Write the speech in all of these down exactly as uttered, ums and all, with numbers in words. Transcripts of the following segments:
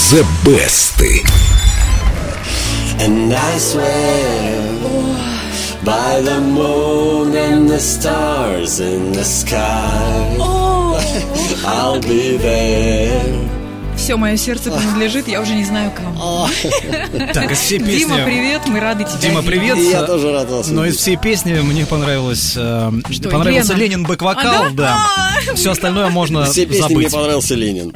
The Best. And I swear by the moon and the stars in the sky, I'll be there. Все мое сердце принадлежит, я уже не знаю кому. Так, из всей песни... Дима, привет, мы рады тебя Дима, привет. И я тоже рад вас. Но из всей песни мне понравилось... Э, Что, понравился Лена? Ленин бэк-вокал, А, да? да. А-а-а. Все остальное можно Все песни забыть. мне понравился Ленин.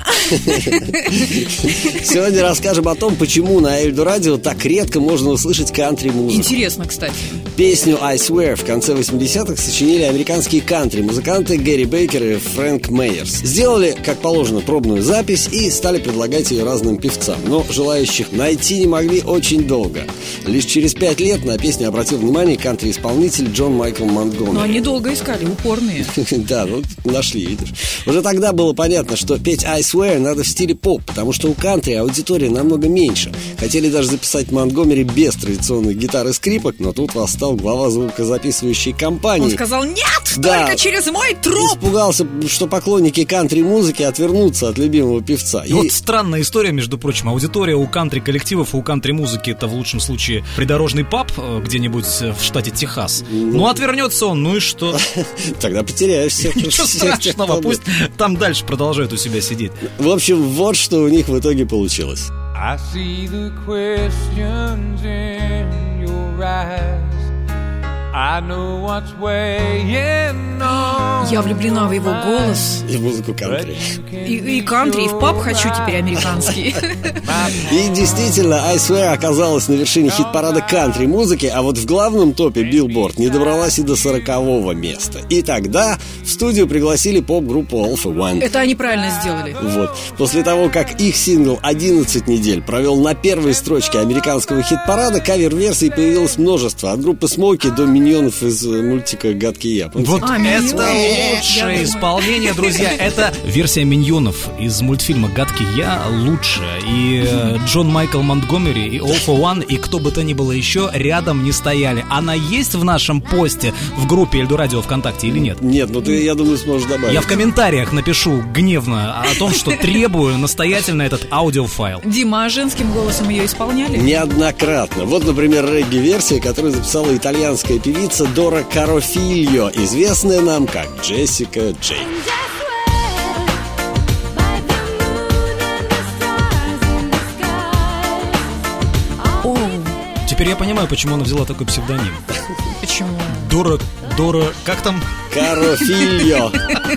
Сегодня расскажем о том, почему на Эльдо Радио так редко можно услышать кантри-музыку. Интересно, кстати. Песню «I Swear» в конце восьмидесятых сочинили американские кантри-музыканты Гэри Бейкер и Фрэнк Мейерс. Сделали, как положено, пробную запись и стали предлагать ее разным певцам. Но желающих найти не могли очень долго. Лишь через пять лет на песню обратил внимание кантри-исполнитель Джон Майкл Монтгомери. Но они долго искали, упорные. Да, ну нашли, видишь. Уже тогда было понятно, что петь «I Swear» надо в стиле поп, потому что у кантри аудитория намного меньше. Хотели даже записать Монтгомери без традиционных гитар и скрипок, но тут восстал глава звукозаписывающей компании. Он сказал: нет, Да. только через мой труп. Испугался, что поклонники кантри-музыки отвернутся от любимого певца. И вот странная история, между прочим. Аудитория у кантри-коллективов и у кантри-музыки — это в лучшем случае придорожный паб э, где-нибудь в штате Техас. Ну, отвернется он, ну и что? Тогда потеряешься. Ничего страшного, пусть там дальше продолжают у себя сидеть. В общем, вот что у них в итоге получилось. I see the questions in your eyes. I know what's weighing on. Я влюблена в его голос. И в музыку кантри. И, и кантри, и в паб хочу теперь американский. И действительно, «I Swear» оказалась на вершине хит-парада кантри-музыки, а вот в главном топе Billboard не добралась и до сорокового места. И тогда в студию пригласили поп-группу All for One. Это они правильно сделали. Вот. После того, как их сингл одиннадцать недель провел на первой строчке американского хит-парада, кавер-версий появилось множество. От группы Смоки до миньонов из мультика «Гадкий я». Помните? Вот А, это «Миньоны». Я лучшее думаю. исполнение, друзья. Это версия миньонов из мультфильма «Гадкий я» лучшая. И э, Джон Майкл Монтгомери, и All for One, и кто бы то ни было еще рядом не стояли. Она есть в нашем посте в группе Эльдо Радио ВКонтакте или нет? Нет, ну ты, я думаю, сможешь добавить. Я в комментариях напишу гневно о том, что требую настоятельно этот аудиофайл. Дима, а женским голосом ее исполняли? Неоднократно. Вот, например, регги-версия, которую записала итальянская певица Дора Карофильо, известная нам как Джессика Джей. О, Теперь я понимаю, почему она взяла такой псевдоним. почему? Дора, Дора, как там? Карофильо.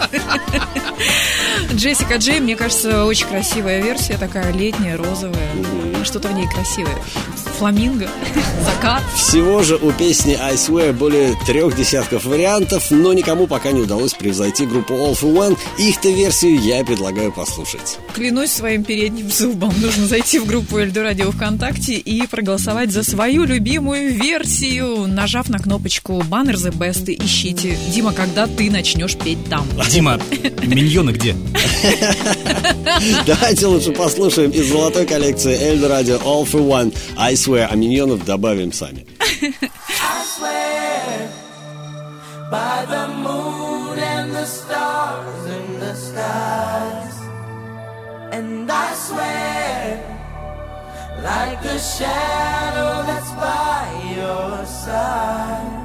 Джессика Джей, мне кажется, очень красивая версия, такая летняя, розовая. Что-то в ней красивое. Фламинго, закат. Всего же у песни «I Swear» более трех десятков вариантов, но никому пока не удалось превзойти группу All for One. Их-то версию я и предлагаю послушать. Клянусь своим передним зубом. Нужно зайти в группу Эльдо Радио ВКонтакте и проголосовать за свою любимую версию, нажав на кнопочку «Баннер The Best» и ищите. Дима, когда ты начнешь петь там? Дима, миньоны где? Давайте лучше послушаем из золотой коллекции Эльдо Радио All for One «I Swear», а миньонов добавим сами. I swear by the moon and the stars in the skies, and I swear like a shadow that's by your side.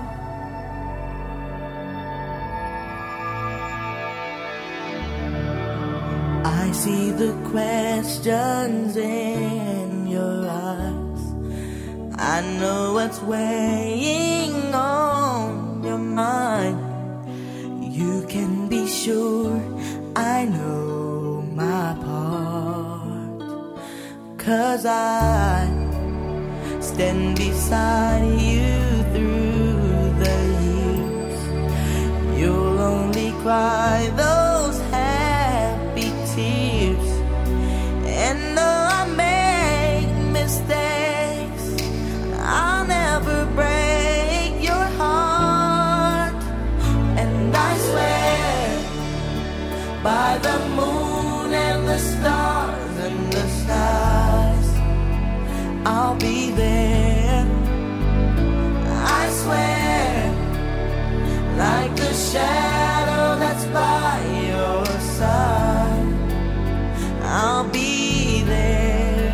I see the questions in your eyes. I know what's weighing on your mind. You can be sure I know my part, 'cause I stand beside you through the years. You'll only cry those happy tears. And though I make mistakes, I'll never break your heart. And I swear by the moon and the stars and the skies, I'll be there. I swear like the shadow that's by your side, I'll be there.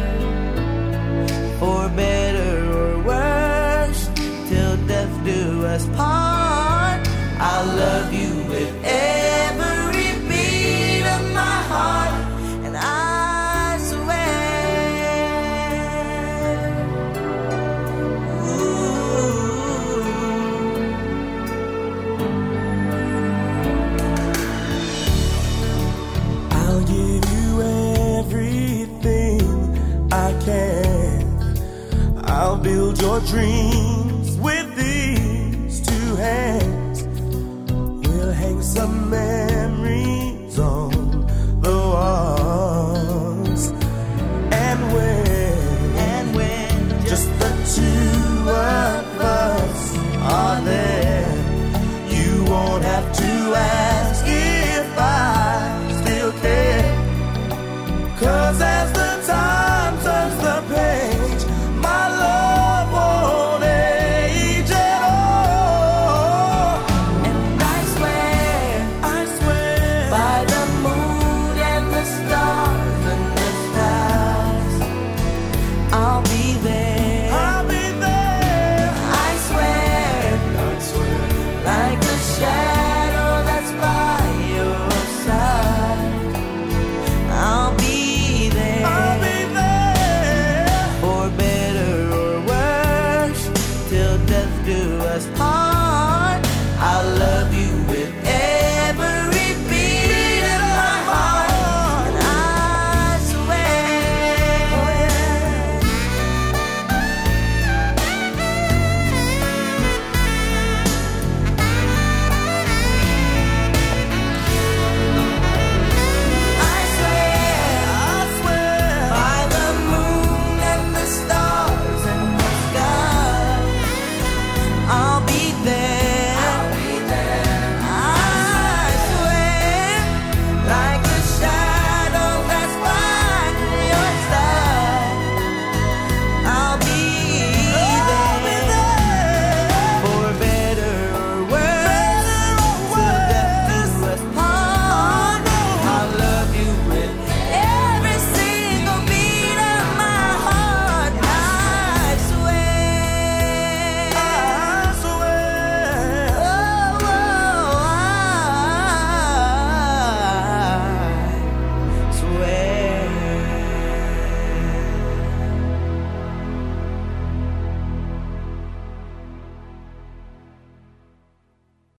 dreams with these two hands. We'll hang some memories on the walls. And when, and when just the two of us are there, you won't have to ask.